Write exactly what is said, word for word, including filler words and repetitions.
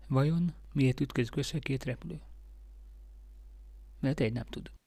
Vajon miért ütközik össze két repülő? Mert egy nem tud.